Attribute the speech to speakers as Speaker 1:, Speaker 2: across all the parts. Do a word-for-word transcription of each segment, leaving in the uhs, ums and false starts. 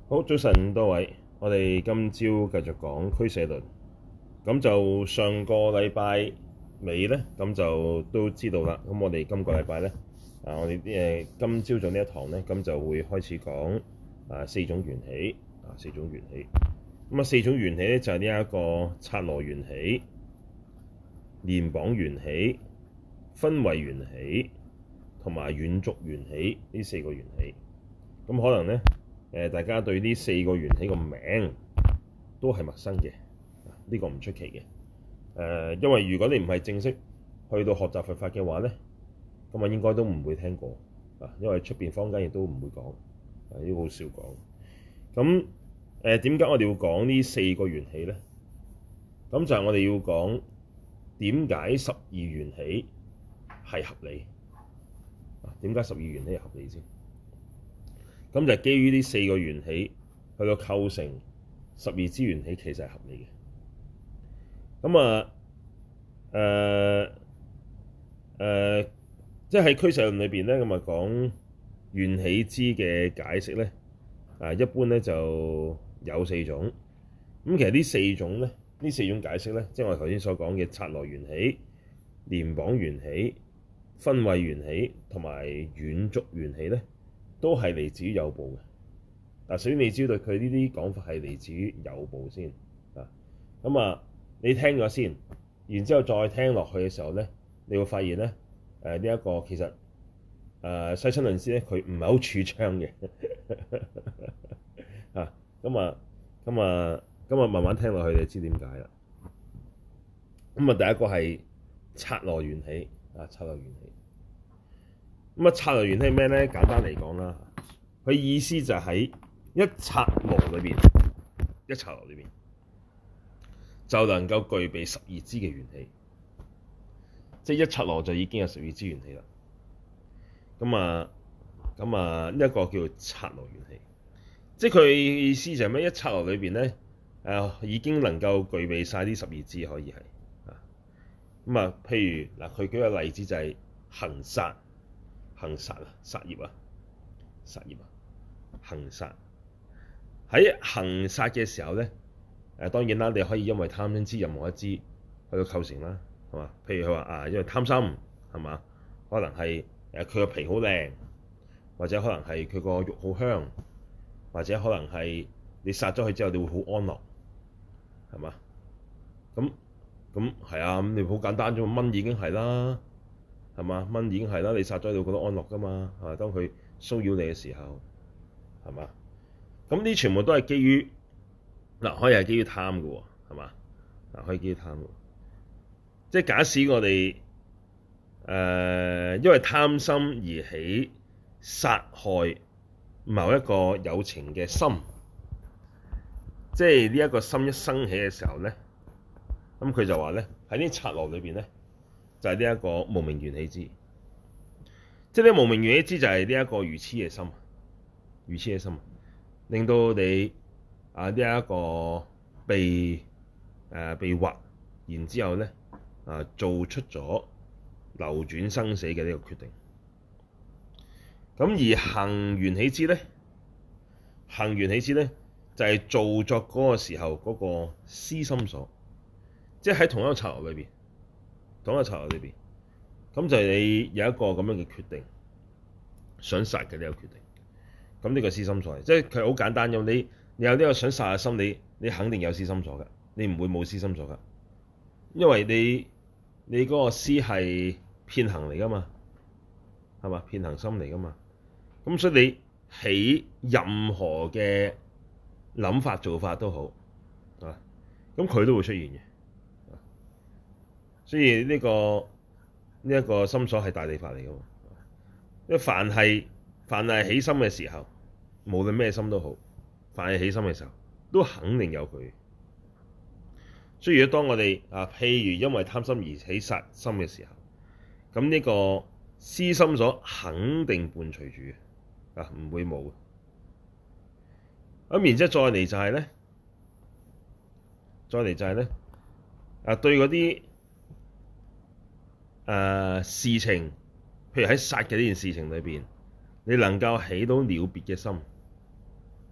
Speaker 1: 好，早晨多位，我哋今朝繼續講俱舍論。咁就上個禮拜尾咧，咁就都知道啦。咁我哋今個禮拜咧，啊，我哋誒今朝早呢一堂咧，咁就會開始講啊四種緣起，啊四種緣起。咁啊四種緣起咧就係呢一個剎那緣起、連綁緣起、分位緣起同埋遠觸緣起呢四個緣起。咁可能咧。誒，大家對呢四個緣起個名都係陌生嘅，呢、這個唔出奇嘅。誒，因為如果你唔係正式去到學習佛法嘅話咧，咁啊應該都唔會聽過啊，因為出邊坊間亦都唔會講，啊呢個好少講。咁誒點解我哋要講呢四個緣起咧？咁就係我哋要講點解十二緣起係合理啊？點解十二緣起係合理先？咁就基於呢四個緣起去到構成十二支緣起，其實係合理嘅。咁啊，誒、呃、誒、呃，即係喺俱舍論裏邊咧，咁啊講緣起支嘅解釋咧，啊一般咧就有四種。咁其實呢四種咧，呢四種解釋咧，即係我哋頭先所講嘅剎那緣起、連綁緣起、分位緣起同埋遠觸緣起咧，都係嚟自於有部嘅。嗱，首先你知道佢呢啲講法係嚟自於有部先啊。咁啊，你聽咗先，然之後再聽落去嘅時候咧，你會發現咧，誒呢一個其實誒、呃、世親論師咧，佢唔係好主張嘅啊。咁啊，咁啊，咁啊，慢慢聽落去，你就知點解啦。咁啊，第一個係剎那緣起啊，剎那緣起。咁啊，剎那緣起係咩咧？簡單嚟講啦，佢意思就喺一剎那裏邊，一剎那裏邊就能夠具備十二支嘅緣起，即係一剎那就已經有十二支緣起啦。咁啊，咁啊，呢一個叫做剎那緣起，即係佢意思就係咩？一剎那裏邊咧，誒已經能夠具備晒啲十二支，可以係啊。咁啊，譬如嗱，佢舉個例子就係行殺。行殺啊，殺業啊，殺業啊，行殺。喺行殺嘅時候咧，誒當然啦，你可以因為貪嗔痴任何一支去到構成啦，係嘛？譬如佢話啊，因為貪心係嘛，可能係誒佢個皮好靚，或者可能係佢個肉好香，或者可能係你殺咗佢之後，你會好安樂，係嘛？咁咁係啊，咁你好簡單啫嘛，蚊已經係啦。係嘛？蚊已經係啦，你殺咗你會覺得安樂噶嘛？係嘛？當佢騷擾你嘅時候，係嘛？咁呢全部都係基於嗱，可以係基於貪嘅喎，係嘛？嗱，可以基於貪嘅，即係假使我哋誒、呃、因為貪心而起殺害某一個有情嘅心，即係呢一個心一生起嘅時候咧，咁佢就話咧喺呢剎那裏邊咧。就係呢一個無明緣起支，即係呢無明緣起支就係呢一個愚痴嘅心，愚痴嘅心，令到你啊呢一個被誒、呃、被惑，然之後咧啊做出咗流轉生死嘅呢個決定。咁而行緣起支咧，行緣起支咧就係、是、造作嗰個時候嗰個思心所，即係喺同一個剎那裏邊。講個剎那裏邊，咁就係你有一個咁樣嘅決定，想殺嘅呢個決定。咁呢個思心所，即係佢好簡單用你，你有呢個想殺嘅心，你你肯定有思心所㗎，你唔會冇思心所㗎，因為你你嗰個思係遍行嚟㗎嘛，係嘛？遍行心嚟㗎嘛，咁所以你起任何嘅諗法做法都好啊，咁佢都會出現嘅。所以呢、這個呢一、這個心所係大地法嚟嘅，因為凡係凡係起心嘅時候，無論咩心都好，凡係起心嘅時候，都肯定有佢。所以如果當我哋啊，譬如因為貪心而起殺心嘅時候，咁呢個思心所肯定伴隨住嘅，啊唔會冇。咁然之後再嚟就係咧，再嚟就係咧，啊對嗰啲。誒、呃、事情，譬如喺殺嘅呢件事情裏邊，你能夠起到了別嘅心，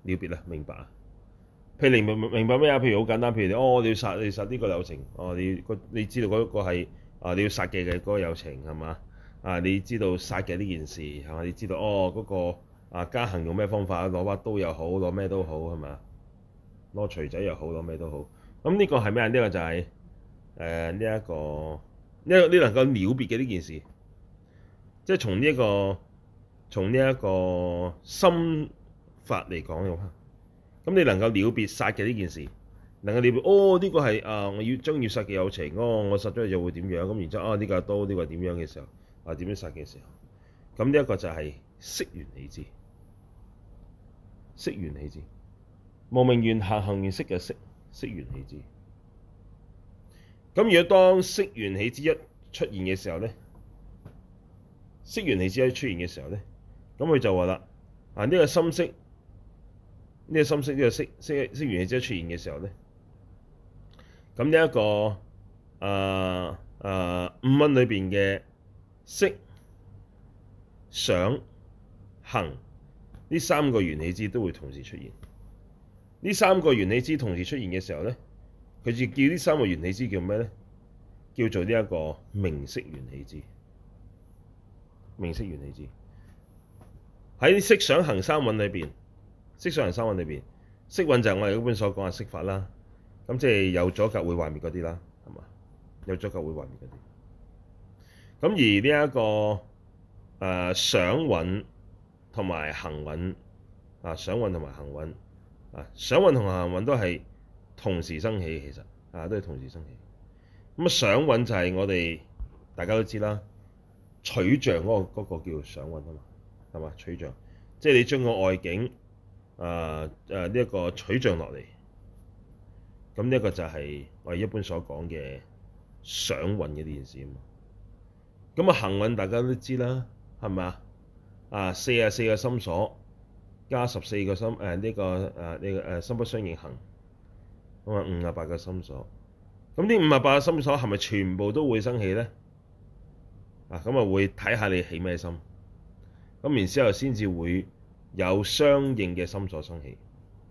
Speaker 1: 了別啊，明白啊。譬如你明明白咩啊？譬如好簡單，譬如你哦，你要殺你要殺呢個有情，哦，你個你知道嗰個係啊，你要殺嘅嘅嗰個有情係嘛？啊，你知道殺嘅呢件事係嘛？你知道哦嗰、嗰個啊加行用咩方法？攞把刀又好，攞咩都好係嘛？攞錘仔又好，攞咩都好。咁呢個係咩啊？呢、呢個就係誒呢一個呢個你能夠了別嘅呢件事，即係從呢一個從呢一個心法嚟講嘅話。咁你能夠了別殺嘅呢件事，能夠了別哦呢、這個係啊我要將要殺嘅有情，哦我殺咗佢就會點樣，咁然之後啊呢、這個刀呢、這個係點樣嘅時候啊點樣殺嘅時候，咁呢一個就係識緣起支，識緣起支，無明緣行行緣識嘅識，識緣起支。咁如果當識緣起支一出現嘅時候咧，識緣起支一出現嘅時候咧，咁佢就話啦啊呢、這個心識。呢個心識呢個識識識緣起支出現嘅時候咧，咁呢一個誒誒、呃呃、五蘊裏邊嘅識、想、行呢三個緣起支都會同時出現。呢三個緣起支同時出現嘅時候咧，佢就叫呢三個緣起支叫咩咧？叫做呢一個名色緣起支。名色緣起支喺識、想、行三蘊裏邊。識想行三蘊裏邊，識蘊就係我哋一般所講嘅色法啦。咁即係有阻隔會壞滅嗰啲啦，係嘛？有阻隔會壞滅嗰啲。咁而呢、這、一個誒、呃、想蘊同埋行蘊啊，想蘊同埋行蘊啊，想蘊同行蘊都係同時生起，其實啊都係同時生起。咁啊想蘊就係我哋大家都知啦，取像嗰、那個嗰、那個叫想蘊啊嘛，係嘛？取像，即係你將個外境。啊誒呢一個取像落嚟，咁呢一個就係我哋一般所講嘅想蘊嘅呢件事啊嘛。咁啊行蘊大家都知啦，係咪啊？啊四十四個心所加十四個心誒呢、啊這個誒呢、啊這個誒、啊、心不相應行，咁啊五十八個心所。咁呢五十八個心所係咪全部都會生起咧？啊咁啊會睇下你起咩心，咁然之後先至會有相應嘅心所生起，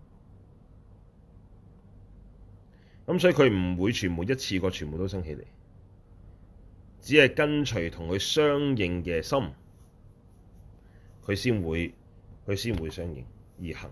Speaker 1: 咁所以佢唔會全部一次過全部都生起嚟，只係跟隨同佢相應嘅心，佢先會佢先會相應而行。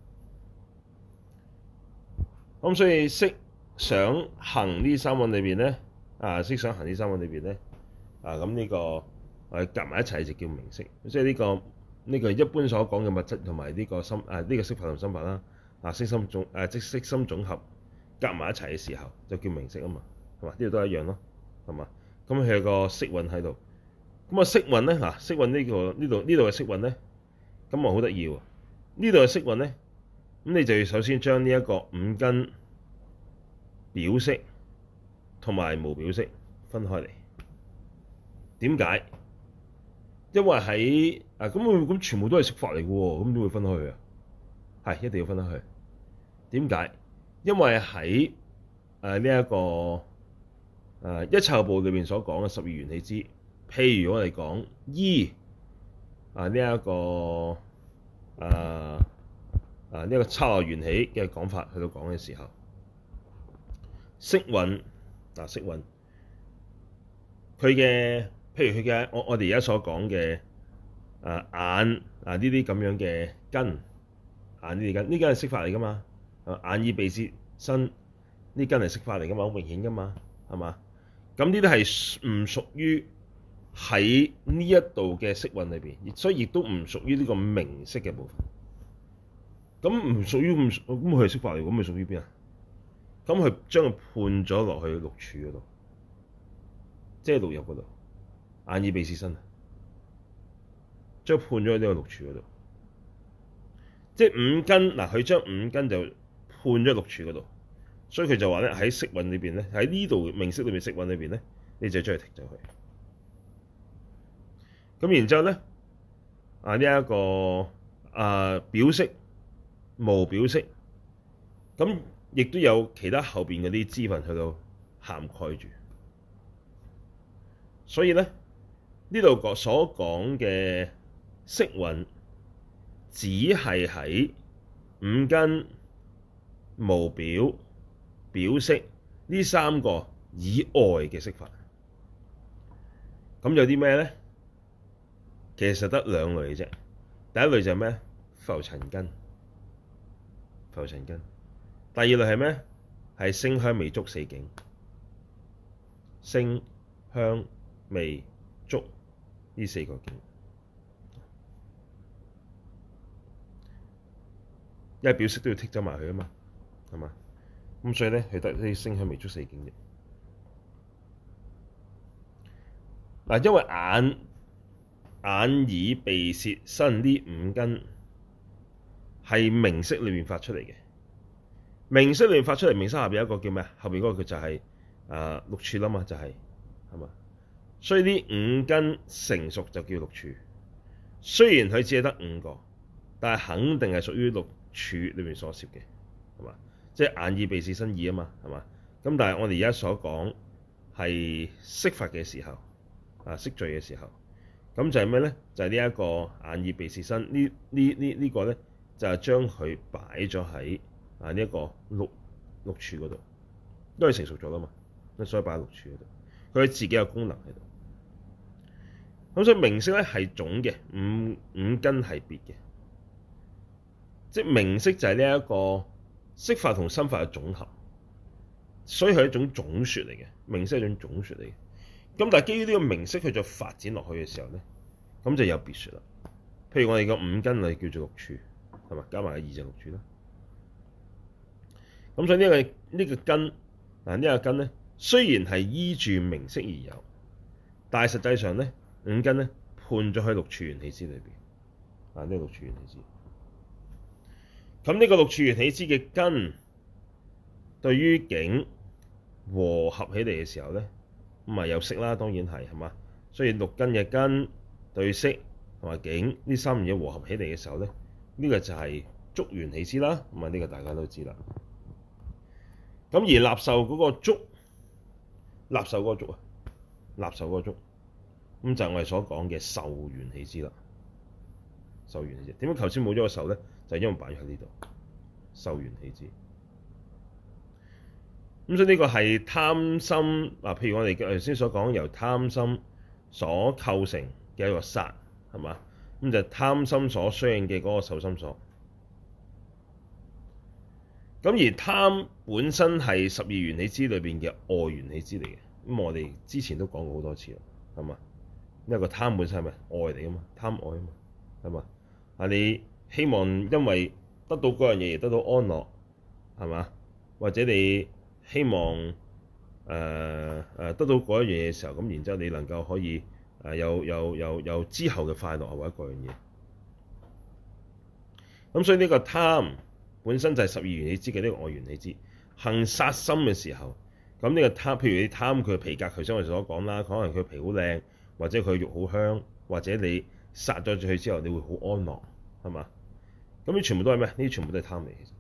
Speaker 1: 咁所以識、想、行呢三蘊裏邊咧，啊識、想、行呢三蘊裏邊咧，啊咁呢、這個誒夾埋一齊就叫名色，即係呢個。呢個一般所講嘅物質同埋呢個心啊，呢、這個色法同心法啦，啊色心總誒即色心總合夾埋一齊嘅時候就叫名色啊嘛，係嘛？呢度都一樣咯，係嘛？咁佢有個色蘊喺度，咁啊色蘊咧嗱，色蘊呢個呢度呢度嘅色蘊咧，咁啊好得意喎！呢度嘅色蘊咧，咁你就要首先將呢一個五根表色同埋無表色分開嚟。點解？因為喺啊咁咁全部都係色法嚟嘅喎，咁點會分開去啊？係一定要分開去。點解？因為喺誒呢一個誒、呃、一切有部裏邊所講嘅十二緣起支，譬如我哋講依啊呢一個誒啊呢一個剎那緣起嘅講法去到講嘅時候，色蘊啊色蘊佢嘅。譬如佢嘅我我哋而家所講嘅啊眼啊呢啲咁樣嘅根，眼呢啲根呢根係色法嚟噶嘛？眼耳鼻舌身呢根係色法嚟噶嘛？好明顯噶嘛？係嘛？咁呢啲係唔屬於喺呢一度嘅色蘊裏邊，所以亦都唔屬於呢個名色嘅部分。咁唔屬於咁咁佢係色法嚟，咁佢屬於邊啊？咁佢將佢判咗落去六處嗰度，即係六入嗰度。眼耳鼻舌身，將判咗喺呢個六處嗰度，即係五根嗱，佢將五根就判咗六處嗰度，所以佢就話咧喺色蘊裏邊咧，喺呢度名色裏邊色蘊裏邊咧，你就將佢剔走去。咁然之後咧，啊呢一個啊表色、無表色，咁亦都有其他後邊嗰啲支分去到涵蓋住，所以咧。呢度個所講嘅色蘊，只係喺五根、無表、表色呢三個以外嘅色法。咁有啲咩咧？其實得兩類啫。第一類就係咩？浮塵根，浮塵根。第二類係咩？係聲香味觸四境，聲香味觸呢四個境。因為表色都要剔走埋佢啊嘛，係嘛？咁所以咧，佢得啲聲香味觸四境啫。嗱，因為眼、眼耳鼻舌身呢五根係名色裏面發出嚟嘅。名色裏面發出嚟，名色下邊有一個叫咩啊？後邊嗰個佢就係、是、啊、呃、六處啦嘛，就係係嘛。所以呢五根成熟就叫六處。雖然佢只係得五個，但係肯定係屬於六處裏面所攝嘅，係嘛？即係眼耳鼻舌身意啊嘛，係嘛？咁但係我哋而家所講係色法嘅時候，啊色聚嘅時候，咁就係咩咧？就係呢一個眼耳鼻舌身呢呢呢呢個咧，就係將佢擺咗喺啊呢一個六六處嗰度，因為成熟咗啦嘛，所以擺喺六處嗰度，佢自己有功能喺度。咁所以名色咧係總嘅，五五根係別嘅。即係名色就係呢一個色法同心法嘅總合，所以係一種總說嚟嘅。名色係一種總說嚟嘅。咁但係基於呢個名色佢再發展落去嘅時候咧，咁就有別說啦。譬如我哋個五根係叫做六處，係嘛？加埋個二就六處啦。咁所以呢、這個呢、這個根嗱呢、這個根咧，雖然係依住名色而有，但係實際上咧五根咧判咗喺六處緣起支裏邊啊，呢、這個六處緣起支。咁呢個六處緣起支嘅根，對於境和合起嚟嘅時候咧，咁啊有色啦，當然係係嘛。所以六根嘅根對色同埋境呢三樣嘢和合起嚟嘅時候咧，呢、這個就係觸緣起支啦。咁啊呢個大家都知啦。咁而納受嗰個觸，納受嗰個觸啊，納受嗰個觸，咁就係我哋所講嘅受緣起支啦。受緣起支點解頭先冇咗個受咧？就係因為擺喺呢度，受緣起支。咁所以呢個係貪心嗱，譬如我哋頭先所講由貪心所構成嘅一個殺，係嘛？咁就係貪心所相應嘅嗰個受心所。咁而貪本身係十二緣起支裏邊嘅愛緣起支嚟嘅。咁我哋之前都講過好多次啦，係嘛？因為個貪本身係咪愛嚟噶嘛？貪愛啊嘛，係嘛？啊你希望因為得到嗰樣嘢而得到安樂，係嘛？或者你希望誒誒、呃、得到嗰一樣嘢嘅時候，咁然之後你能夠可以誒有有有有之後嘅快樂或者嗰樣嘢。咁所以呢個貪本身就係十二緣起支嘅呢個愛緣起支。行殺心嘅時候，咁呢個貪，譬如你貪佢皮革，頭先我哋所講啦，可能佢皮好靚，或者佢肉好香，或者你殺咗佢之後，你會好安樂，係嘛？咁呢全部都係咩？呢啲全部都係貪嚟嘅。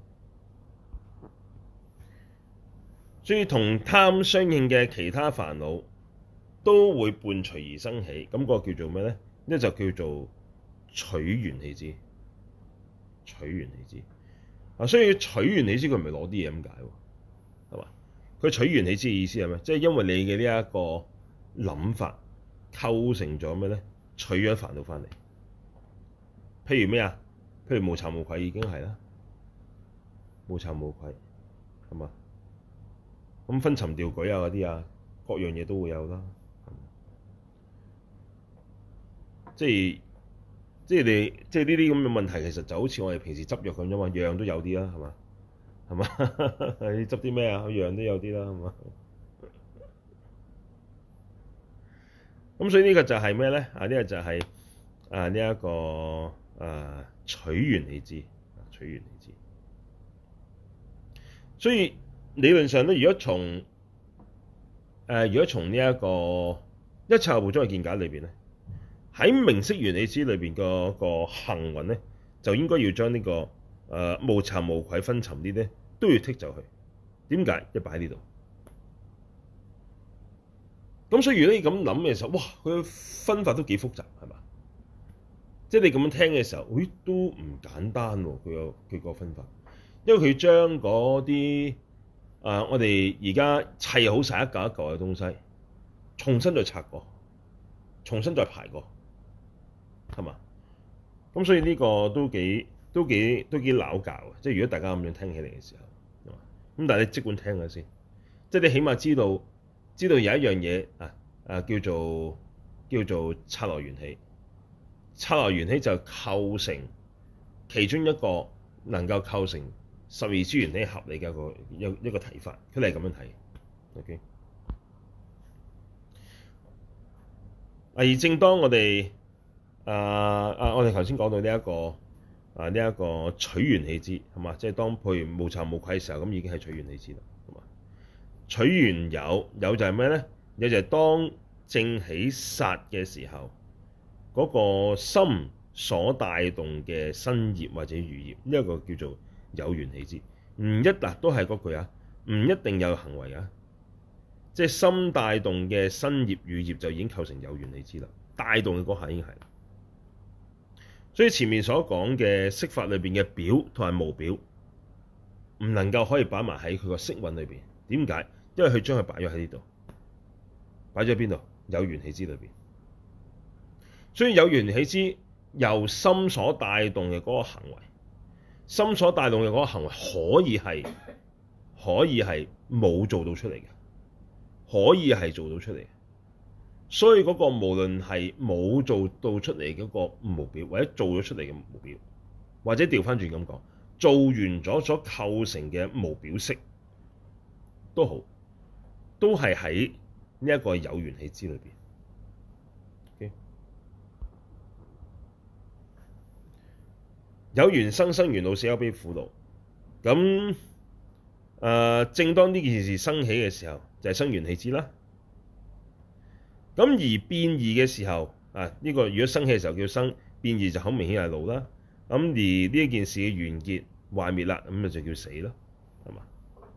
Speaker 1: 所以同貪相應嘅其他煩惱都會伴隨而生起，咁、那個叫做咩咧？呢就叫做取緣起支。取緣起支啊，所以取緣起支佢唔係攞啲嘢咁解喎，係嘛？佢取緣起支嘅意思係咩？即係因為你嘅呢一個諗法構成咗咩咧？取咗煩惱翻嚟。譬如咩啊？譬如無慚無愧已經係啦，無慚無愧係嘛？咁昏沉掉舉啊嗰啲啊，各樣嘢都會有啦。即係即係你即係呢啲咁嘅問題，其實就好似我哋平時執藥咁啫嘛，樣樣都有啲啦，係嘛？係嘛？你執啲咩啊？樣樣都有啲啦，係嘛？咁所以呢個就係咩咧？啊，呢個就係啊呢一個啊取緣起支，取緣起支。所以理論上咧，如果從誒、呃、如果從呢一個一切有部宗嘅見解裏邊咧，喺名色緣起支裏邊個個行運咧，就應該要將呢、這個誒、呃、無慚無愧昏沉啲咧都要剔走去。點解？一擺喺呢度。咁所以如果你咁諗嘅時候，哇，佢分法都幾複雜，係嘛？ 即係你咁樣聽嘅時候，咦都唔簡單喎！佢個佢個分法，因為佢將嗰啲啊我哋而家砌好晒一嚿一嚿嘅東西，重新再拆過，重新再排過，係嘛？咁所以呢個都幾都幾都幾拗教嘅。即係如果大家咁樣聽起嚟嘅時候，咁但係你即管聽下先，即係你起碼知道知道有一樣嘢啊啊叫做叫做剎那緣起。剎那緣起就構成其中一個能夠構成十二支緣起合理嘅一個一一個睇法，佢哋係咁樣睇。OK，而正當我哋啊啊，我哋頭先講到呢、這、一個啊呢一、這個取緣起支係嘛，即係當譬如無慚無愧嘅時候，咁已經係取緣起支啦，係嘛？取緣有有就係咩咧？有就係當正起殺嘅時候。嗰、那個心所帶動嘅身業或者語業，呢、這、一個叫做有緣起支。唔一嗱都係嗰句啊，唔一定有行為啊，即係心帶動嘅身業語業就已經構成有緣起支啦。帶動嘅嗰下已經係，所以前面所講嘅色法裏邊嘅表同埋無表，唔能夠可以擺埋喺佢個色蘊裏邊。點解？因為佢將佢擺咗喺呢度，擺咗喺邊度？有緣起支裏邊。所以有緣起支由心所帶動嘅嗰個行為，心所帶動嘅嗰個行為可以係可以係冇做到出嚟嘅，可以係做到出嚟嘅。所以嗰個無論係冇做到出嚟嗰個無表，或者做咗出嚟嘅無表，或者調翻轉咁講，做完咗所構成嘅無表色都好，都係喺呢一個有緣起支裏邊。有緣生生緣老死憂悲苦惱，咁誒、呃，正當呢件事生起嘅時候，就係、是、生緣起支啦。咁而變異嘅時候，啊呢、這個如果生起嘅時候叫生，變異就好明顯係老啦。咁而呢一件事嘅完結壞滅啦，咁咪就叫死咯，係嘛？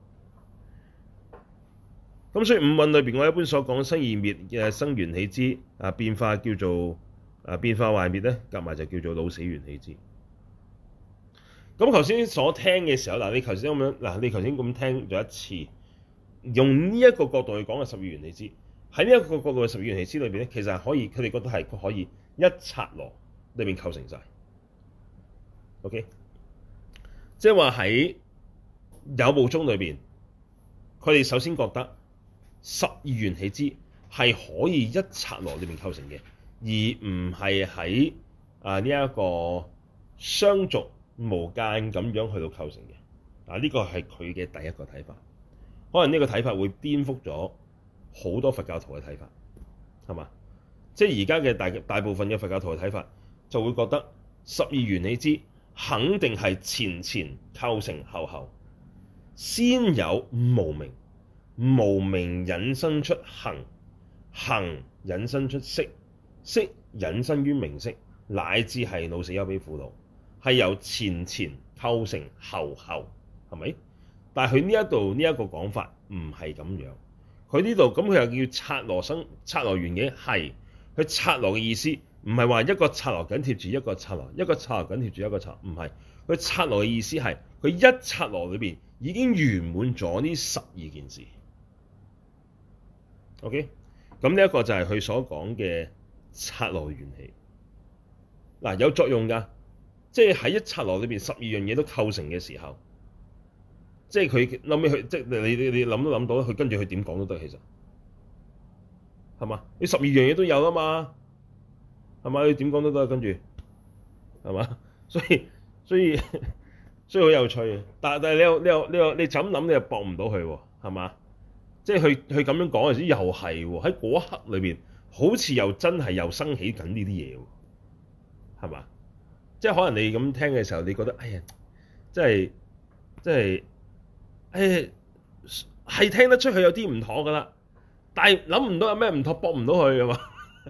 Speaker 1: 咁所以五蘊裏邊，我一般所講生異滅嘅生緣起支啊，變化叫做啊變化壞滅咧，夾埋就叫做老死緣起支。咁頭先所聽嘅時候，嗱你頭先咁樣，嗱你頭先咁聽咗一次，用呢一個角度去講嘅十二緣起支，喺呢一個角度嘅十二緣起支裏邊咧，其實係可以，佢哋覺得係可以一剎那裏邊構成晒。OK，即係話喺有部宗裏邊，佢哋首先覺得十二緣起支係可以一剎那裏邊構成嘅，而唔係喺啊呢一個相續無間咁樣去到構成嘅。嗱，呢個係佢嘅第一個睇法，可能呢個睇法會顛覆咗好多佛教徒嘅睇法，係嘛？即係而家嘅大大部分嘅佛教徒嘅睇法，就會覺得十二緣起支肯定係前前構成後後，先有無明，無明引申出行，行引申出識，識引申於名色，乃至係老死憂悲苦惱。係由前前構成後後，係咪？但係佢呢一度呢一個講法唔係咁樣。佢呢度咁佢又叫剎那生剎那緣起，係佢剎那嘅意思，唔係話一個剎那緊貼住一個剎那，一個剎那緊貼住一個剎那，唔係。佢剎那嘅意思係佢一剎那裏邊已經圓滿咗呢十二件事。OK，咁呢一個就係佢所講嘅剎那緣起。嗱，有作用㗎。即係喺一剎那裏邊，十二樣嘢都構成嘅時候，即係佢諗起佢，即係你你你諗都諗到，佢跟住佢點講都得，其實係嘛？你十二樣嘢都有啊嘛，係嘛？你點講都得，跟住係嘛？所以所以所以好有趣嘅。但但係你又你又你又你就咁諗，你又駁唔到佢喎，係嘛？即係佢佢咁樣講嘅時候，又係喎，喺嗰一刻裏邊，好似又真係又生起緊呢啲嘢喎，係嘛？即係可能你咁聽嘅時候，你覺得哎呀，即係即係，誒係聽得出佢有啲唔妥噶啦，但係諗唔到有咩唔妥，駁唔到佢噶嘛？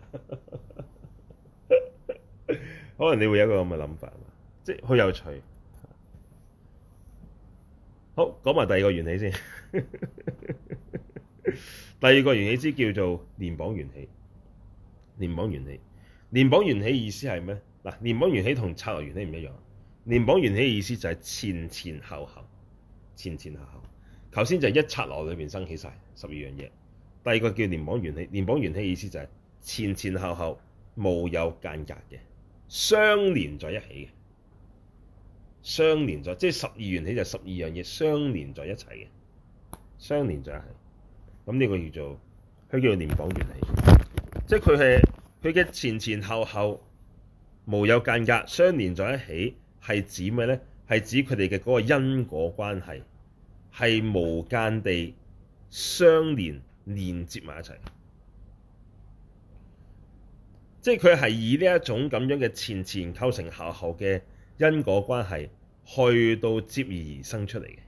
Speaker 1: 可能你會有一個咁嘅諗法，即係好有趣。好，講埋第二個緣起先。第二個緣起支叫做聯縛緣起。聯縛緣起，聯縛緣起意思係咩？ 嗱，聯綁緣起同剎那緣起唔一樣。聯綁緣起嘅意思就係前前後後，前前後後。頭先就係一剎那裏邊生起晒十二樣嘢。第二個叫聯綁緣起，聯綁緣起嘅意思就係前前後後無有間隔嘅，相連在一起嘅，相連在，即係十二緣起就係十二樣嘢相連在一齊嘅，相連在一起。咁呢個叫做佢叫做聯綁緣起，即係佢係佢嘅前前後後無有間隔，相連在一起，係指咩咧？係指佢哋嘅嗰個因果關係係無間地相連連接埋一齊，即係佢係以呢一種咁樣嘅前前構成後後嘅因果關係去到接而生出嚟嘅。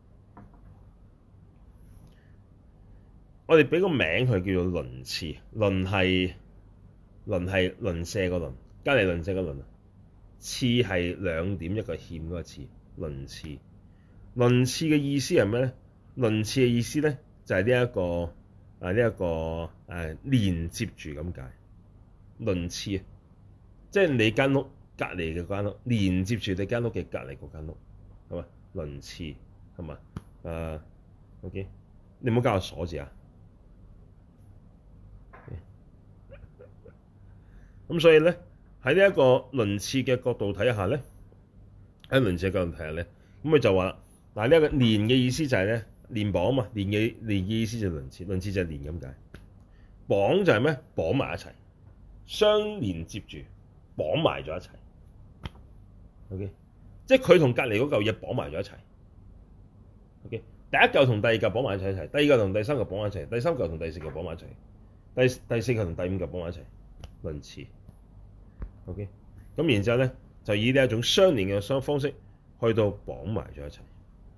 Speaker 1: 我哋俾個名佢叫做鄰次，鄰係鄰係鄰舍個鄰，隔離鄰舍個鄰啊，次係兩點一個欠嗰個次，鄰次。鄰次嘅意思係咩咧？鄰次嘅意思咧就係呢一個啊呢一個誒、啊、連接住咁解。鄰次啊，即係你間屋隔離嘅間屋，連接住你間屋嘅隔離嗰間屋，係嘛？鄰次係嘛？誒 OK，你唔好加個鎖字啊！咁所以咧喺呢一個鄰次嘅角度睇下咧，喺鄰次嘅角度睇下咧，咁佢就話嗱，呢一個連嘅意思就係咧連綁啊嘛，連嘅連嘅意思就係鄰次，鄰次就係連咁解。綁就係咩？綁埋一齊，相連接住，綁埋咗一齊。OK，即係佢同隔離嗰嚿嘢綁埋咗一齊。OK，第一嚿同第二嚿綁埋一齊，第二嚿同第三嚿綁埋一齊，第三嚿同第四嚿綁埋一齊，第第四嚿同第五嚿綁埋一齊，鄰次。OK，咁然之後咧，就以呢一種相連嘅相方式去到綁埋咗一齊。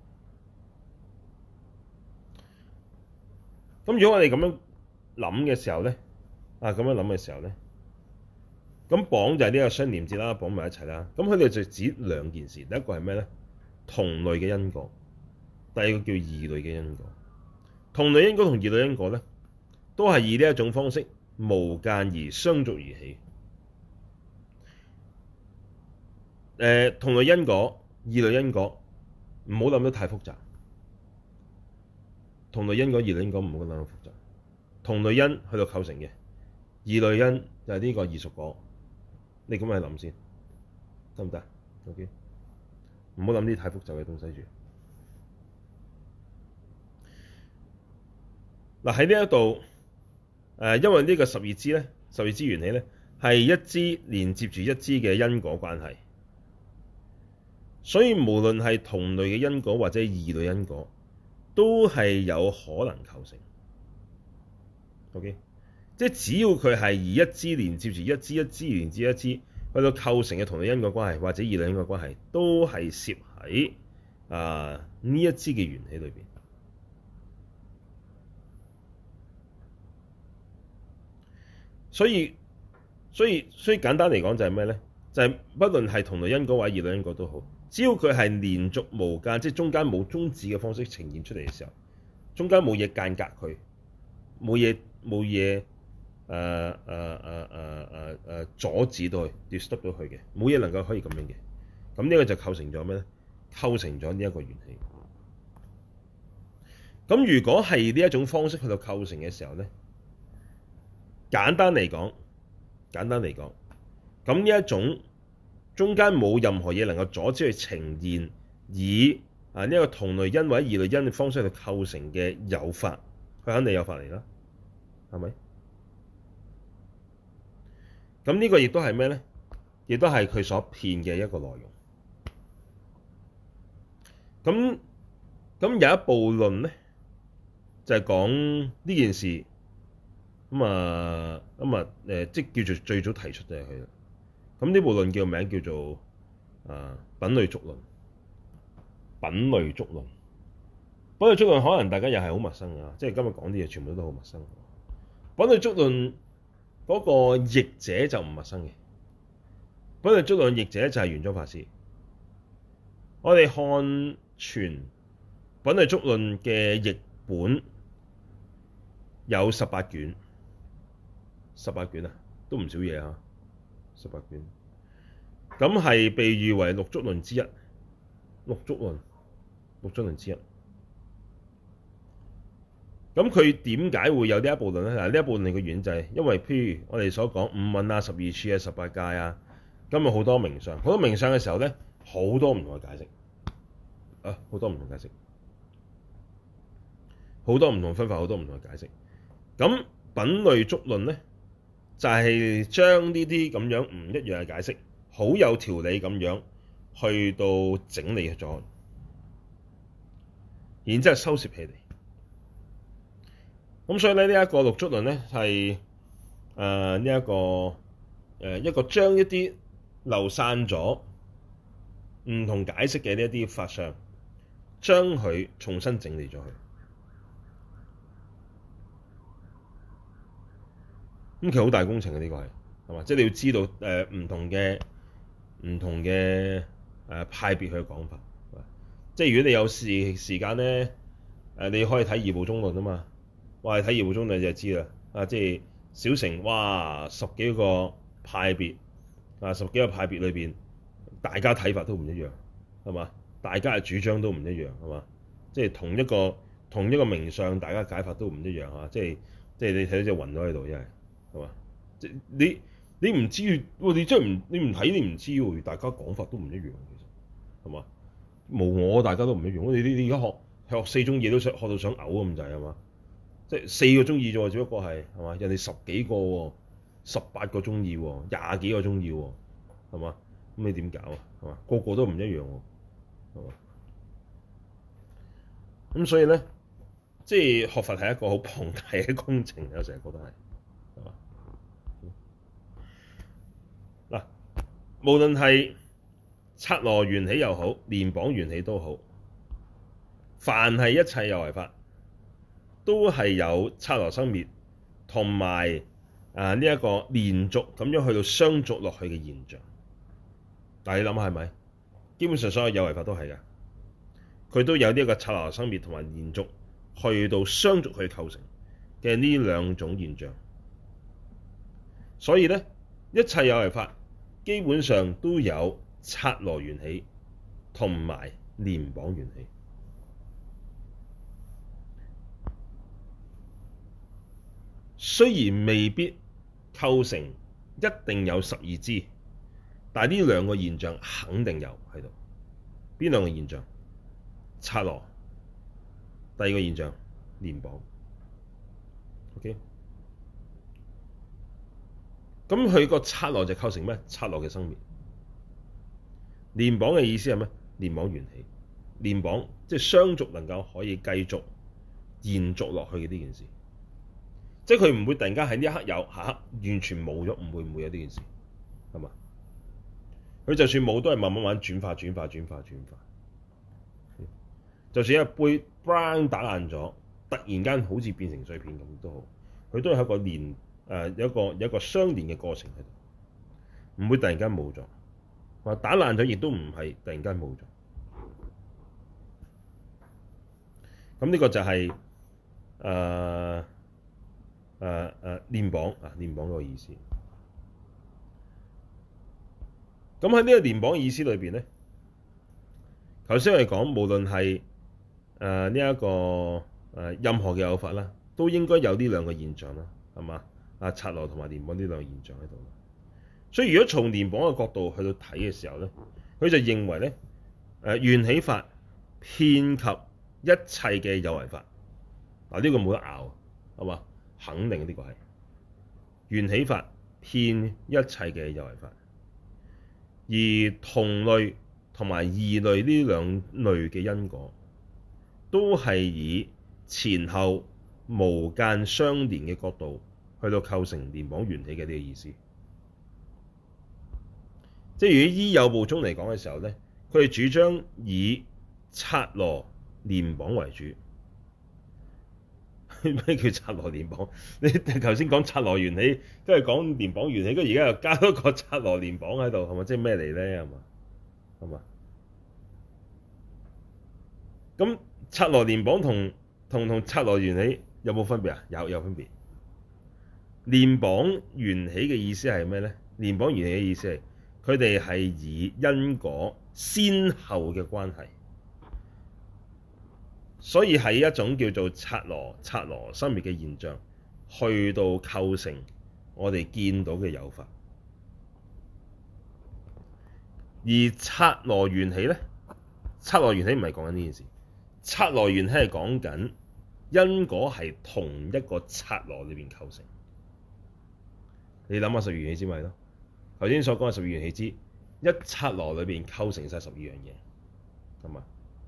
Speaker 1: 咁如果我哋咁樣諗嘅時候咧，啊咁樣諗嘅時候咧，咁綁就係呢個相連接啦，綁埋一齊啦。咁佢哋就指兩件事，第一個係咩咧？同類嘅因果，第二個叫異類嘅因果。同類因果同異類因果咧，都係以呢一種方式無間而相續而起。誒、呃、同類因果、異類因果，唔好諗得太複雜。同類因果、異類因果唔好諗得複雜。同類因去到構成嘅，異類因就係呢個異熟果。你咁樣去諗先，得唔得 ？OK，唔好諗啲太複雜嘅東西住。嗱喺呢一度，誒因為呢個十二支咧，十二支緣起咧係一支連接住一支嘅因果關係。所以無論係同類嘅因果或者異類因果，都係有可能構成。OK，即係只要佢係以一支連接住一支，一支連接一支，去到構成嘅同類因果關係或者異類因果關係，都係攝喺啊呢一支嘅緣起裏邊。所以，所以，所以簡單嚟講就係咩咧？就係、是、不論係同類因果或者異類因果都好。只要佢係連續無間，即係中間冇終止嘅方式呈現出嚟嘅時候，中間冇嘢間隔佢，冇嘢冇嘢誒誒誒誒誒誒阻止到佢 disturb 到佢嘅，冇嘢能夠可以咁樣嘅。咁呢個就構成咗咩咧？構成咗呢一個緣起。咁如果係呢一種方式去到構成嘅時候咧，簡單嚟講，簡單嚟講，咁呢一種。中間冇任何嘢能夠阻止佢呈現，以啊呢一個同類因或者異類因嘅方式去構成嘅有法，佢肯定有法嚟啦，係咪？咁呢個亦都係咩咧？亦都係佢所騙嘅一個內容。咁咁有一部論咧，就係、是、講呢件事，咁啊咁啊誒，即係叫做最早提出就係佢啦。咁呢部論叫名叫做啊品類觸論，品類觸論，品類觸論可能大家又係好陌生㗎，即係今日講啲嘢全部都好陌生。品類觸論嗰個譯者就唔陌生嘅，品類觸論譯者就係玄奘法師。我哋看全品類觸論嘅譯本有十八卷，十八卷啊，都唔少嘢啊。十八卷， 咁係被譽為六足論之一，六足論，六足論之一。咁佢點解會有呢一部論咧？嗱，呢一部論嘅原因就係因為譬如我哋所講五蘊啊、十二處啊、十八界啊，今日好多名相，好多名相嘅時候咧，好多唔同嘅解釋啊，好多唔同解釋，好多唔同分法，好多唔同嘅解釋。咁品類足論咧，就係將呢啲咁樣唔一樣嘅解釋，好有條理咁樣去到整理咗，然之後收攝起嚟。咁所以咧，呢一個六足論咧係誒呢一個誒、呃、一個將一啲流散咗唔同解釋嘅呢一啲法相，將佢重新整理咗佢。咁其實好大工程嘅呢個係係嘛？即係你要知道誒唔、呃、同嘅唔同嘅誒、呃、派別去講法。即係如果你有時時間咧，誒、呃、你可以睇二部中論啊嘛。哇！睇二部中論你就知啦。啊，即係小乘哇，十幾個派別啊，十幾個派別裏邊，大家睇法都唔一樣，係嘛？大家嘅主張都唔一樣，係嘛？即係同一個同一個名相，大家解法都唔一樣啊！即係即係你睇到隻雲咗喺度，真係係嘛？即係你你唔知，你真係唔你唔睇你唔知喎，大家講法都唔一樣，其實係嘛？無我大家都唔一樣。我哋你你而家學學四宗嘢都想學到想嘔咁滯係嘛？即係四個中意啫喎，只不過係係嘛？人哋十幾個喎，十八個中意喎，廿幾個中意喎，係嘛？咁你點搞啊？係嘛？個個都唔一樣喎，係嘛？咁所以咧，即係學佛係一個好龐大嘅工程，我成日覺得係係嘛？嗱，無論係剎那緣起又好，蓮綁緣起都好，凡係一切有為法，都係有剎那生滅同埋啊呢一個連續咁樣去到相續落去嘅現象。但係你諗下係咪？基本上所有有為法都係㗎，佢都有呢一個剎那生滅同埋連續去到相續去構成嘅呢兩種現象。所以咧，一切有為法基本上都有剎那緣起同埋蓮綁緣起。雖然未必構成一定有十二支，但係呢兩個現象肯定有喺度。邊兩個現象？剎那，第二個現象蓮綁。OK，咁佢個剎那就構成咩？剎那嘅生滅。蓮綁嘅意思係咩？蓮綁緣起。蓮綁即係相續能夠可以繼續延續落去嘅呢件事。即係佢唔會突然間喺呢一刻有，下刻完全冇咗，唔會唔會有呢件事，係嘛？佢就算冇，都係慢慢慢轉化、轉化、轉化、轉化。就算一杯 brown 打爛咗，突然間好似變成碎片咁都好，佢都係一個連誒、呃、有一個有一個相連嘅過程喺度，唔會突然間冇咗。話打爛咗，亦都唔係突然間冇咗。咁呢個就係、是、誒。呃誒誒蓮綁啊，蓮綁嗰個意思。咁喺呢個蓮綁嘅意思裏邊咧，頭先我哋講，無論係誒呢一個誒、呃、任何嘅有法啦，都應該有呢兩個現象啦，係嘛？啊，剎那同埋蓮綁呢兩個現象喺度。所以如果從蓮綁嘅角度去到睇嘅時候咧，佢就認為咧，誒、呃、緣起法遍及一切嘅有為法。嗱、這、呢個冇得拗，係嘛？肯定呢個係緣起法遍一切嘅有為法，而同類同埋異類呢兩類嘅因果，都係以前後無間相連嘅角度去到構成蓮綁緣起嘅呢個意思。即係如果依有部宗嚟講嘅時候咧，佢哋主張以剎那蓮綁為主。咩叫剎那蓮綁？你頭先講剎那緣起，跟住講蓮綁緣起，跟住而家又加多個剎那蓮綁喺度，係咪？即係咩嚟咧？係嘛？係嘛？咁剎那蓮綁同同同剎那緣起有冇分別啊？有有分別。蓮綁緣起嘅意思係咩咧？蓮綁緣起嘅意思係佢哋係以因果先後嘅關係，所以係一種叫做剎那剎那生滅嘅現象，去到構成我哋見到嘅有法。而剎那緣起咧，剎那緣起唔係講緊呢件事，剎那緣起係講緊因果係同一個剎那裏邊構成。你諗下十二緣起之咪咯？頭先所講嘅十二緣起之一剎那裏邊構成晒十二樣嘢，係嘛？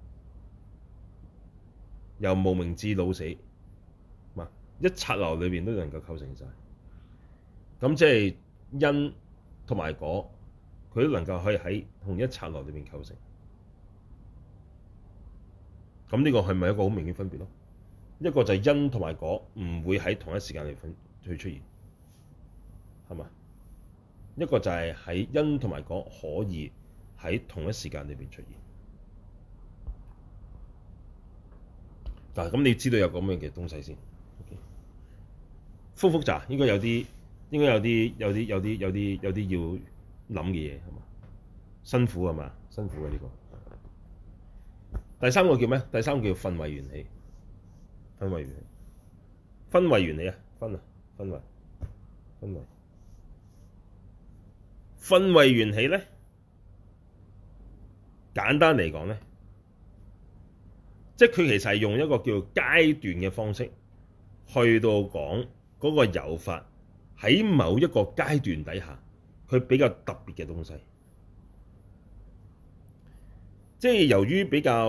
Speaker 1: 由無明至老死，嘛一剎那裏邊都能夠構成晒。咁即係因同埋果，佢都能夠可以喺同一剎那裏邊構成。咁呢個係咪一個好明顯分別咯？一個就係因同埋果唔會喺同一時間嚟分去出現，係嘛？一個就係喺因同埋果可以喺同一時間裏邊出現。嗱，咁你知道有咁樣嘅東西先。複唔複雜？應該有啲，應該有啲，有啲，有啲，有啲，有啲要諗嘅嘢係嘛？辛苦係嘛？辛苦嘅呢個。第三個叫咩？第三個叫分位緣起。分位緣起。分位緣起啊！分啊！分位。分位。分位緣起咧，簡單嚟講咧，即係佢其實係用一個叫階段嘅方式去到講嗰個有法喺某一個階段底下，佢比較特別嘅東西。即係由於比較，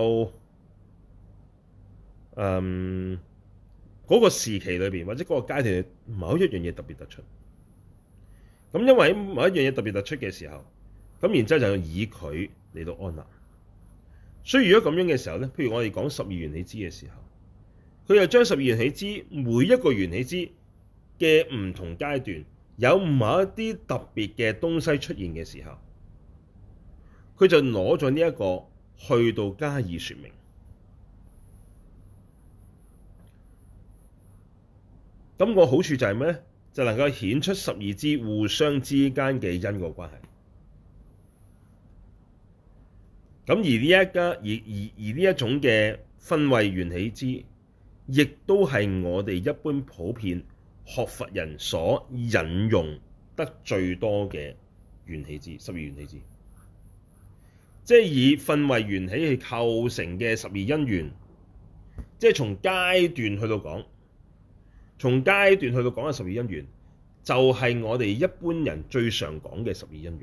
Speaker 1: 嗯，嗰個時期裏邊或者嗰個階段某一樣嘢特別突出。咁因為喺某一樣嘢特別突出嘅時候，咁然之後就以佢嚟到安立。所以如果咁樣嘅時候咧，譬如我哋講十二緣起支嘅時候，佢又將十二緣起支每一個緣起支嘅唔同階段有某一啲特別嘅東西出現嘅時候，佢就攞咗呢一個去到加以說明。咁個好處就係咩咧？就能夠顯出十二支互相之間嘅因果關係。咁而呢一家而而而呢一種嘅分位緣起支，亦都係我哋一般普遍學佛人所引用得最多嘅緣起支，十二緣起支。即係以分位緣起去構成嘅十二因緣，即係從階段去到講。從階段去到講嘅十二因緣，就係、是、我哋一般人最常講嘅十二因緣。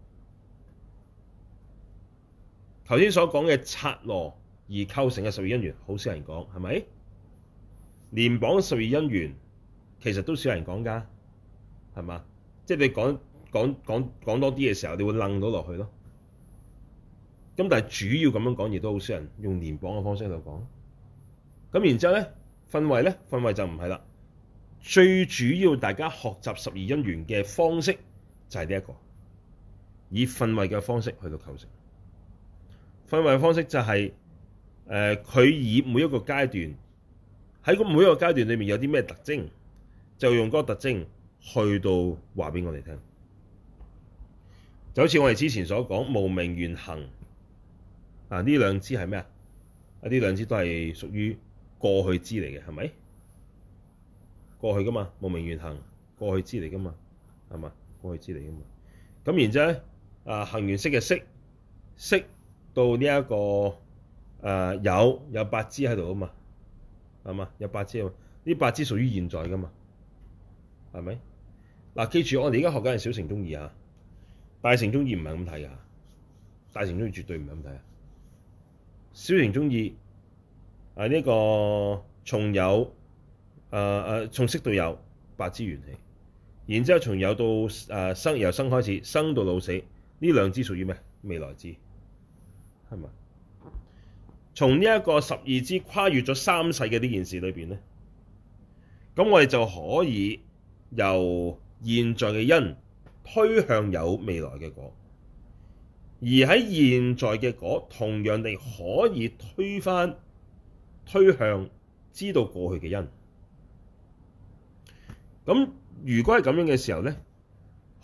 Speaker 1: 頭先所講嘅剎那而構成嘅十二因緣，好少人講，係咪？連綁十二因緣，其實都少人講㗎，係嘛？即係你講講講講多啲嘅時候，你會楞到落去咯。咁但係主要咁樣講，亦都好少人用連綁嘅方式去講。咁然之後咧，分位咧，分位就唔係啦。最主要大家學習十二因緣嘅方式就係呢一個，以分位嘅方式去到構成。分位嘅方式就係、是、誒，佢、呃、以每一個階段喺個每一個階段裏面有啲咩特徵，就用嗰個特徵去到話俾我哋聽。就好似我哋之前所講無明緣行啊，呢兩支係咩啊？啊，呢兩支都係屬於過去支嚟嘅，係咪？過去噶嘛，無明緣行，過去支嚟噶嘛，係嘛？過去支嚟噶嘛。咁然之後咧，啊行緣識嘅識，識到呢、這、一個誒、啊、有有八支喺度啊嘛，係嘛？有八支啊嘛，呢八支屬於現在噶嘛，係咪？嗱、啊，記住我哋而家學緊係小乘宗義啊，大乘宗義唔係咁睇噶，大乘宗義絕對唔係咁睇啊。小乘宗義啊呢、這個從有。誒、呃、誒，從識到有八支緣起，然之後從有到誒、呃、生，由生開始，生到老死，呢兩支屬於咩？未來支，係咪？從呢一個十二支跨越咗三世嘅呢件事裏邊咧，咁我哋就可以由現在嘅因推向有未來嘅果，而喺現在嘅果同樣地可以推返推向知道過去嘅因。咁如果係咁樣嘅時候咧，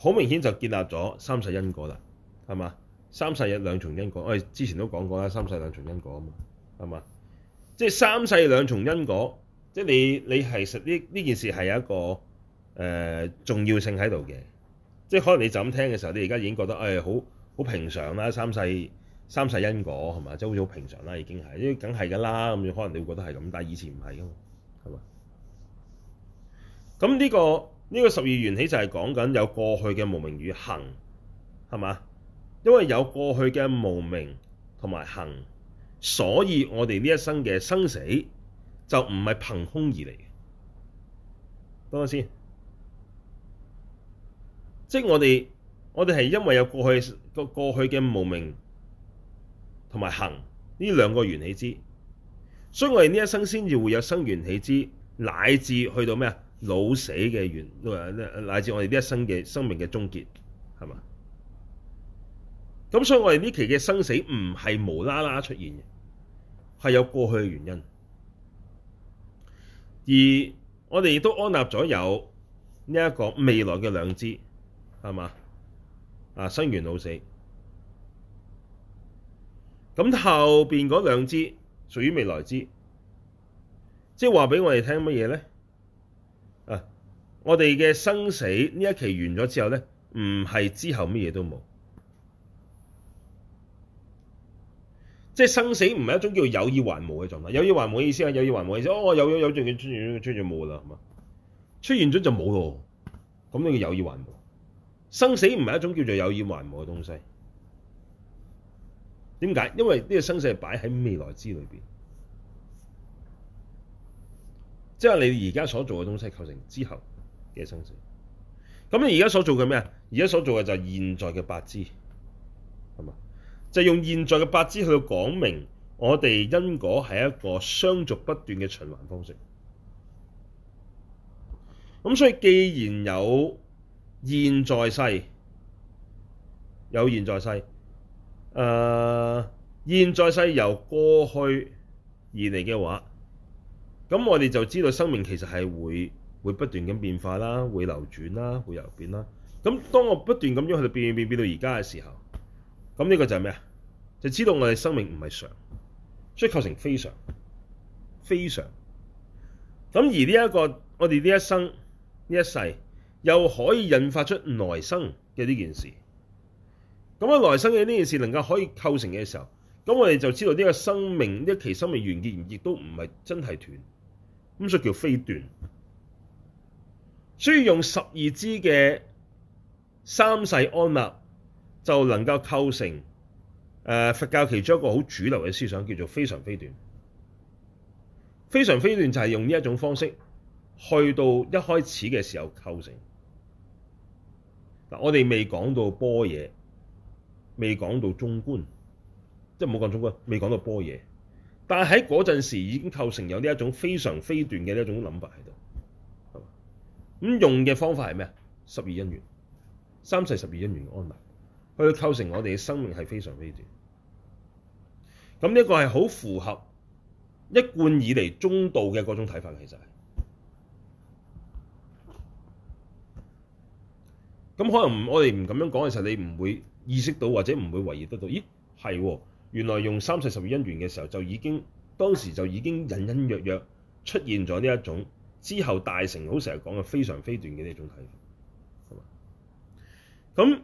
Speaker 1: 好明顯就建立咗三世因果啦，係嘛？三世有兩重因果，我哋之前都講過啦，三世兩重因果啊嘛，係嘛？即係三世兩重因果，即係你你係實呢呢件事係有一個誒、呃、重要性喺度嘅。即係可能你就咁聽嘅時候，你而家已經覺得誒好好平常啦，三世三世因果係嘛？即係好似好平常啦，已經係，因為梗係㗎啦。咁可能你會覺得係咁，但係以前唔係㗎嘛，係嘛？咁呢、呢個呢、呢個十二緣起就係講緊有過去嘅無明與行，係嘛？因為有過去嘅無明同埋行，所以我哋呢一生嘅生死就唔係憑空而嚟嘅。等我先，即係我哋我哋係因為有過去個過去嘅無明同埋行呢兩個緣起支，所以我哋呢一生先至會有生緣起支，乃至去到咩啊老死嘅緣，乃至我哋呢一生嘅生命嘅終結，係嘛？咁所以我哋呢期嘅生死唔係無啦啦出現嘅，係有過去嘅原因。而我哋亦都安納咗有呢一個未來嘅兩支，係嘛？啊，生緣老死。咁後邊嗰兩支屬於未來支，即係話俾我哋聽乜嘢咧？啊，我哋嘅生死呢一期完咗之後咧，唔係之後乜嘢都冇。即係生死唔係一種叫有意還無嘅狀態，有意還無嘅意思係有意還無嘅意思，哦，有有有仲要出現出現冇啦，係嘛？出現咗就冇咯，咁呢個有意還無。生死唔係一種叫做有意還無嘅東西。點解？因為呢個生死係擺喺未來支裏邊，即係你而家所做嘅東西構成之後嘅生死。咁你而家所做嘅咩啊？而家所做嘅就係現在嘅八支，係嘛？就係用現在嘅八支去到講明我哋因果係一個相續不斷嘅循環方式。咁所以既然有現在世，有現在世，誒、呃、現在世由過去而嚟嘅話，咁我哋就知道生命其實係會會不斷咁變化啦，會流轉啦，會流變啦。咁當我不斷咁樣去到變變變到而家嘅時候，咁呢個就係咩啊？就知道我哋生命唔係常，所以構成非常非常。咁而呢、這、一個我哋呢一生呢一世又可以引發出來生嘅呢件事。咁啊來生嘅呢件事能夠可以構成嘅時候，咁我哋就知道呢個生命呢一期生命完結，亦都唔係真係斷，咁所以叫非斷。所以用十二支嘅三世安立就能夠構成誒、呃、佛教其中一個好主流嘅思想，叫做非常非斷。非常非斷就係用呢一種方式去到一開始嘅時候構成。嗱，我哋未講到般若，未講到中觀，即係唔好講中觀，未講到般若，但係喺嗰陣時已經構成有呢一種非常非斷嘅呢一種諗法喺度。咁用嘅方法係咩啊？十二因緣，三世十二因緣安立，去構成我哋嘅生命係非常非斷。咁呢個係好符合一貫以嚟中道嘅嗰種睇法，其實係。咁可能我哋唔咁樣講嘅時候，你唔會意識到或者唔會懷疑得到，咦係喎，原來用三世十二因緣嘅時候就已經當時就已經隱隱約約出現咗呢一種之後大乘好成日講嘅非常非斷嘅呢一種睇法，係嘛？咁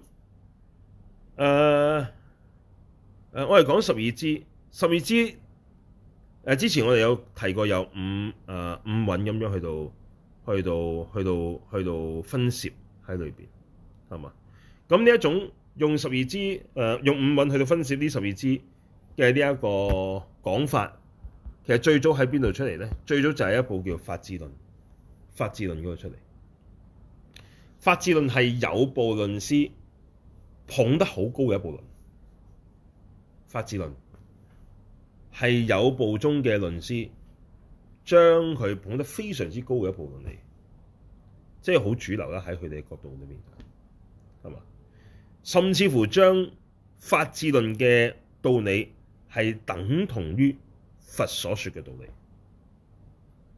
Speaker 1: 誒誒，我哋講十二支，十二支誒、呃、之前我哋有提過有五誒、呃、五蘊咁樣去到去到去到去到分攝喺裏邊，係嘛？咁呢一種用十二支誒、呃、用五蘊去到分攝呢十二支嘅呢一個講法，其實最早喺邊度出嚟咧？最早就係一部叫《法智論》。法智論嗰個出嚟，法智論係有部論師捧得好高嘅一部論。法智論係有部中嘅論師將佢捧得非常之高嘅一部論嚟，即係好主流啦喺佢哋嘅角度裏面，係嘛？甚至乎將法智論嘅道理係等同於佛所說嘅道理，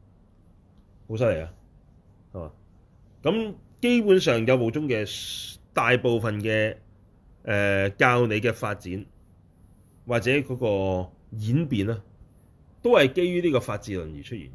Speaker 1: 好犀利啊！係嘛？咁基本上有部中嘅大部分嘅誒、呃、教你嘅發展或者嗰個演變啦，都係基於呢個發智論而出現。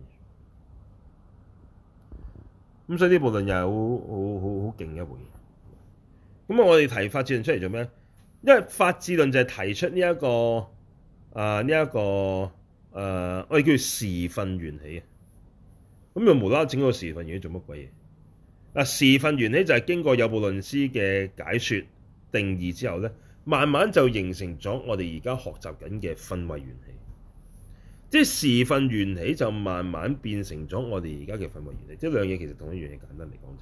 Speaker 1: 咁所以呢部論又係好好好好勁嘅一部嘢。咁啊，我哋提發智論出嚟做咩？因為發智論就係提出呢、這、一個啊呢一個誒、呃，我哋叫時分緣起啊。咁又無啦啦整個時分緣起做乜鬼嘢？嗱，時分緣起就係經過有部論師嘅解說定義之後咧，慢慢就形成咗我哋而家學習緊嘅分位緣起。即係時分緣起就慢慢變成咗我哋而家嘅分位緣起，即係兩嘢其實同一樣嘢，簡單嚟講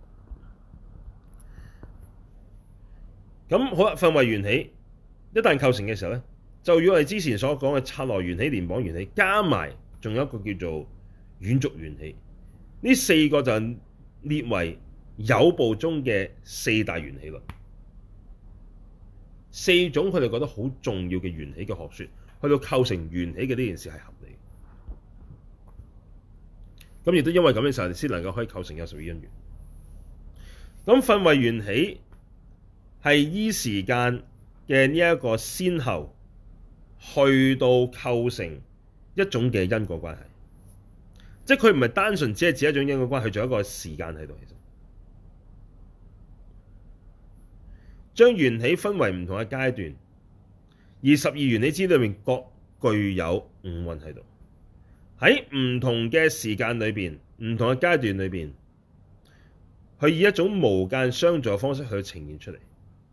Speaker 1: 就咁好啦。分位緣起一旦構成嘅時候咧，就如我哋之前所講嘅剎那緣起、聯綁緣起，加埋仲有一個叫做遠續緣起，呢四個就列為有部中嘅四大緣起論，四種佢哋覺得好重要嘅緣起嘅學說。去到構成緣起嘅呢件事係合理，咁亦都因為咁嘅時候，先能夠可以構成有十二因緣。咁分位緣起係依時間嘅呢一個先後，去到構成一種嘅因果關係，即係佢唔係單純只係指一種因果關係，仲有一個時間喺度。其實將緣起分為唔同嘅階段。而十二緣起支裏面各具有五蘊喺度，喺唔同嘅時間裏邊、唔同嘅階段裏邊，去以一種無間相續嘅方式去呈現出嚟。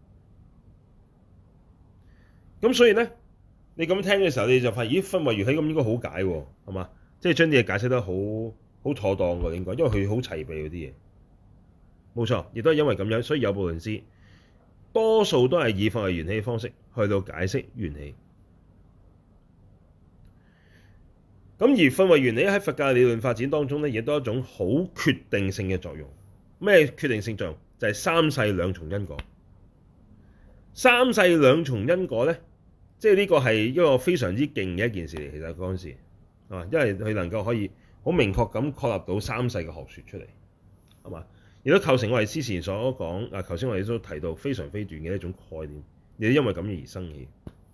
Speaker 1: 咁所以咧，你咁聽嘅時候，你就發現咦，分位緣起咁應該好解喎，係嘛？即係將啲嘢解釋得好好妥當㗎，應該，因為佢好齊備嗰啲嘢。冇錯，亦都係因為咁樣，所以有部論師多數都係以分位緣起嘅方式去到解釋緣起。咁而分位緣起喺佛教理論發展當中咧，亦都係一種好決定性嘅作用。咩決定性作用？就係三世兩重因果。三世兩重因果咧，即係呢個係一個非常之勁嘅一件事嚟。其實嗰陣時啊，因為佢能夠可以好明確咁確立到三世嘅學說出嚟，係嘛？亦都構成我哋之前所講啊，頭先我哋都提到非常非斷嘅一種概念，亦都因為咁而生起。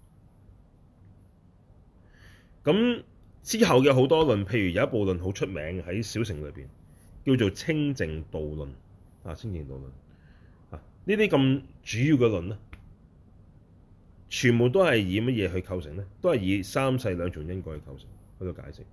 Speaker 1: 咁之後嘅好多論，譬如有一部論好出名喺小乘裏邊，叫做清淨道論啊，清淨道論啊，呢啲咁主要嘅論咧，全部都係以乜嘢去構成咧？都係以三世兩重因果去構成，去到解釋。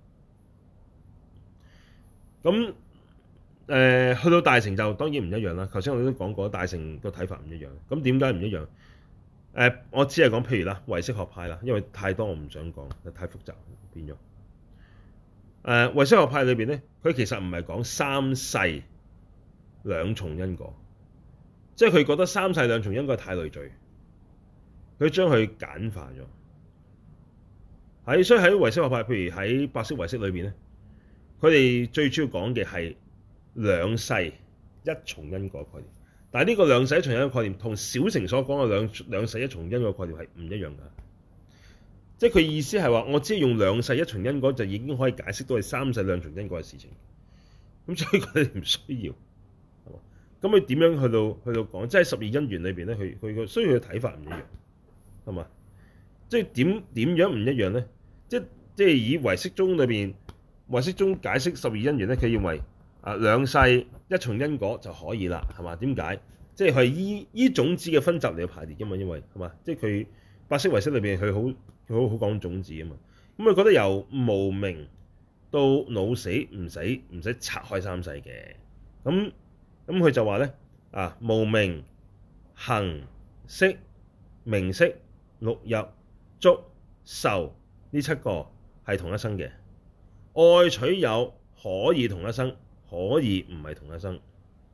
Speaker 1: 咁誒、呃、去到大乘就當然唔一樣啦。頭先我哋都講過，大乘個睇法唔一樣。咁點解唔一樣？誒、呃，我只係講譬如啦，唯識學派啦，因為太多我唔想講，太複雜變咗。誒、呃，唯識學派裏邊咧，佢其實唔係講三世兩重因果，即係佢覺得三世兩重因果太累贅，佢將佢簡化咗。喺所以喺唯識學派，譬如喺白色唯識裏邊咧，佢哋最主要講嘅係兩世一重因果概念，但係呢個兩世一重因果概念同小乘所講嘅兩兩世一重因果概念係唔一樣㗎。即係佢意思係話，我只係用兩世一重因果就已經可以解釋到係三世兩重因果嘅事情。咁所以佢哋唔需要，係嘛？咁佢點樣去到去到講？即係十二因緣裏邊咧，佢佢個需要嘅睇法唔一樣，係嘛？即係點點樣唔一樣咧？即即係以唯識宗裏邊唯識宗解釋十二因緣咧，佢認為啊，兩世一重因果就可以啦，係嘛？點解？即係佢係依依種子嘅分集嚟排列㗎嘛，因為係嘛？即係佢白色唯識裏邊佢好佢好好講種子啊嘛。咁佢覺得由無明到老死唔使唔使拆開三世嘅。咁咁佢就話咧啊，無明、行、識、名色、六入、觸、受呢七個係同一生嘅，愛取有可以同一生。可以唔係同一生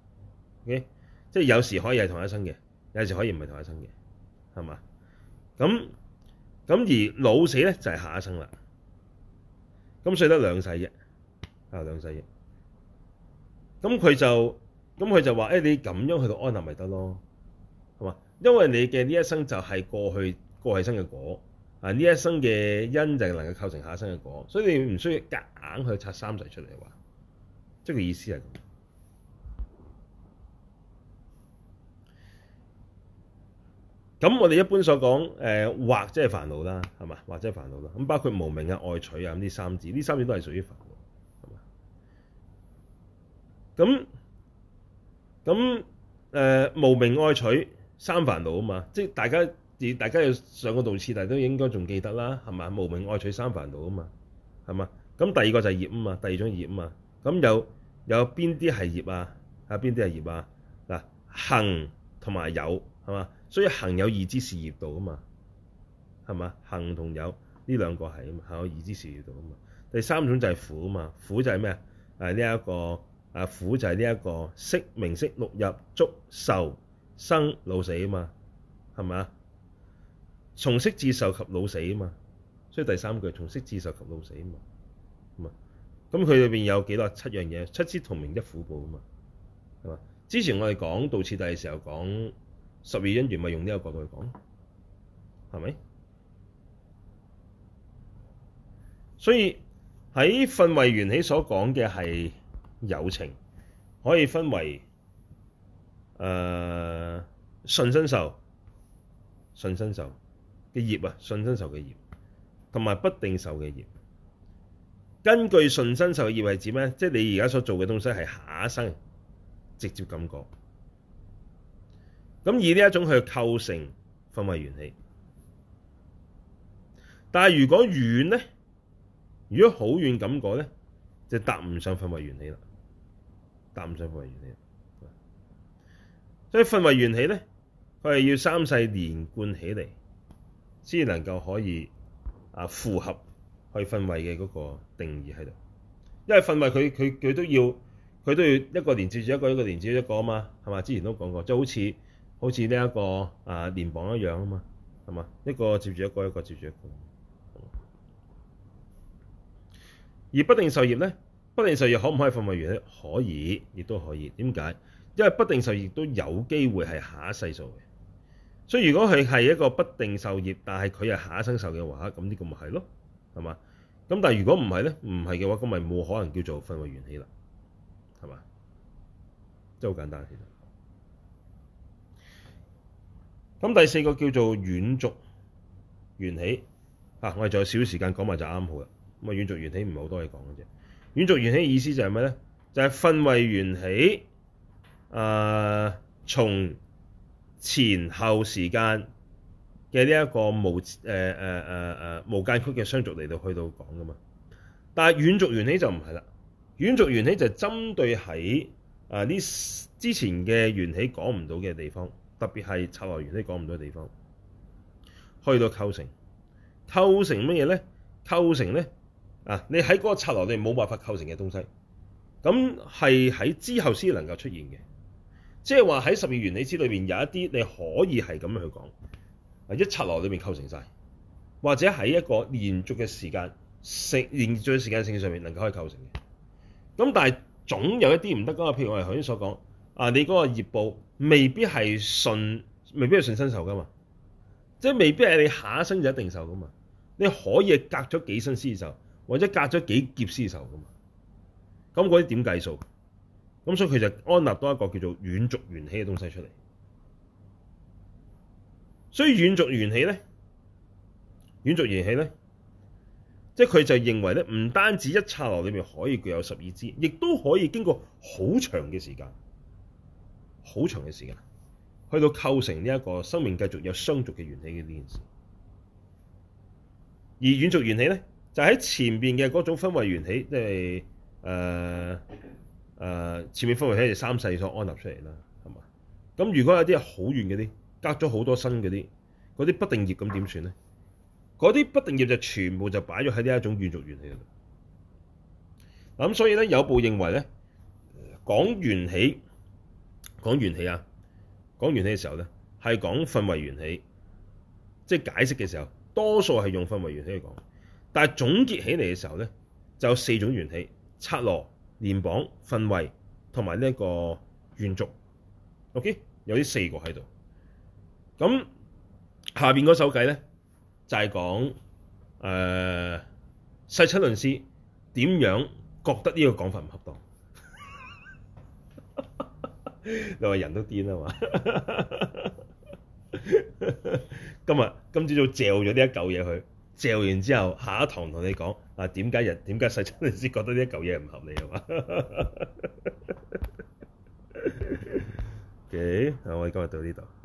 Speaker 1: ，okay? 即係有時可以係同一生嘅，有時可以唔係同一生嘅，係嘛？咁咁而老死咧就係、是、下一生啦。咁所以得兩世啫，啊兩世啫。咁佢就咁佢就話：誒、欸、你咁樣去到安立咪得咯，係嘛？因為你嘅呢一生就係過去過去生嘅果，啊呢一生嘅因就能夠構成下一生嘅果，所以你唔需要夾硬去拆三世出嚟話。即係個意思係咁。 咁我哋一般所講誒惑即係煩惱啦，係嘛？惑即係煩惱啦。咁包括無明啊、愛取啊咁呢三字，呢三字都係屬於煩惱，係嘛？咁咁誒無明愛取三煩惱啊嘛，即係大家大家要上個道次，大家都應該仲記得啦，係嘛？無明愛取三煩惱啊嘛，係嘛？咁第二個就係業啊嘛，第二種業啊嘛。咁有有邊啲係業啊？啊邊啲係業啊？嗱，行同埋有係嘛？所以行有二支是業道啊嘛，係嘛？行同有呢兩個係啊嘛，行有二支是業道啊嘛。第三種就係苦啊嘛，苦就係咩啊？誒呢一個啊苦就係呢一個色名色六入觸受生老死啊嘛，係咪？從色至受及老死啊嘛，所以第三句從色至受及老死啊嘛。咁佢裏邊有幾多？七樣嘢，七支同名一苦報啊嘛，係嘛？之前我哋講道次第嘅時候講十二因緣，咪用呢個角度去講，係咪？所以喺分位緣起所講嘅係有情，可以分為誒順身受、順身受嘅業啊，順身受嘅業，同埋不定受嘅業。根據順身受嘅業係指咩？即係你而家所做嘅東西係下一生直接感覺。咁以呢一種去構成分位緣起。但係如果遠咧，如果好遠感覺咧，就搭唔上分位緣起啦，搭唔上分位緣起。所以分位緣起咧，佢係要三世連貫起嚟，先能夠可以啊符合去分位嘅嗰個定義喺度。因為分位佢佢佢都要佢都要一個連接住一個，一個連接住一個啊嘛，係嘛？之前都講過，即係好似好似呢一個啊連綁一樣啊嘛，係嘛？一個接住一個，一個接住一個。而不定受業咧，不定受業可唔可以分位緣起？可以，亦都可以。點解？因為不定受業都有機會係下一世受嘅。所以如果佢係一個不定受業，但係佢係下一生受嘅話，咁呢個咪係咯，係嘛？咁但係如果唔係咧，唔係嘅話，咁咪冇可能叫做分位緣起啦，係嘛？真係好簡單，其實。咁第四個叫做遠續緣起，啊，我哋仲有少少時間講埋就啱好啦。咁啊，遠續緣起唔係好多嘢講嘅啫。遠續緣起意思就係咩咧？就係分位緣起，啊，從前後時間嘅呢一個無誒誒誒誒無間隙嘅相續嚟到去到講噶嘛。但係遠續緣起就唔係啦。遠續緣起就針對喺啊呢之前嘅緣起講唔到嘅地方，特別係剎那緣起講唔到嘅地方，去到構成構成乜嘢咧？構成咧啊！你喺嗰個剎那你冇辦法構成嘅東西，咁係喺之後先能夠出現嘅。即係話喺十二緣起支裏邊有一啲你可以係咁樣去講，啊一剎那裏面構成晒，或者喺一個連續嘅時間性連續嘅時間性上面能夠可以構成嘅。咁但係總有一啲唔得噶嘛，譬如我哋頭先所講，啊你嗰個業報未必係順，未必係順身受噶嘛，即係未必係你下一生就一定受噶嘛。你可以隔咗幾生先受，或者隔咗幾劫先受噶嘛。咁嗰啲點計數？咁所以佢就安立多一個叫做遠續緣起嘅東西出嚟。所以遠續緣起咧，遠續緣起咧，即係佢就認為咧，唔單止一剎那裏面可以具有十二支，亦都可以經過好長嘅時間，好長嘅時間，去到構成呢一個生命繼續有相續嘅緣起嘅呢件事。而遠續緣起咧，就喺前邊嘅嗰種分位緣起，即係誒誒前面分位緣起係三世所安立出嚟啦，係嘛？咁如果有啲係好遠嗰啲，隔咗好多生嗰啲，嗰啲不定業咁點算咧？嗰啲不定業就全部就擺咗喺呢一種遠續緣起度。咁所以咧，有部認為咧，講緣起，講緣起啊，講緣起嘅時候咧，係講分位緣起，即係解釋嘅時候。多數係用分位緣起去講，但係總結起嚟嘅時候咧，就有四種緣起：剎那、連綁、分位同埋呢一個遠續。OK， 有呢四個喺度。咁下邊嗰首偈咧，就係講誒世親論師點樣覺得呢個講法唔恰當。你話人都癲啊嘛？ 今日今朝早嚼咗呢一嚿嘢佢，嚼完之後下一堂同你講啊，點解人點解世親你先覺得呢一嚿嘢唔合理係嘛？OK，啊我哋今日到呢度。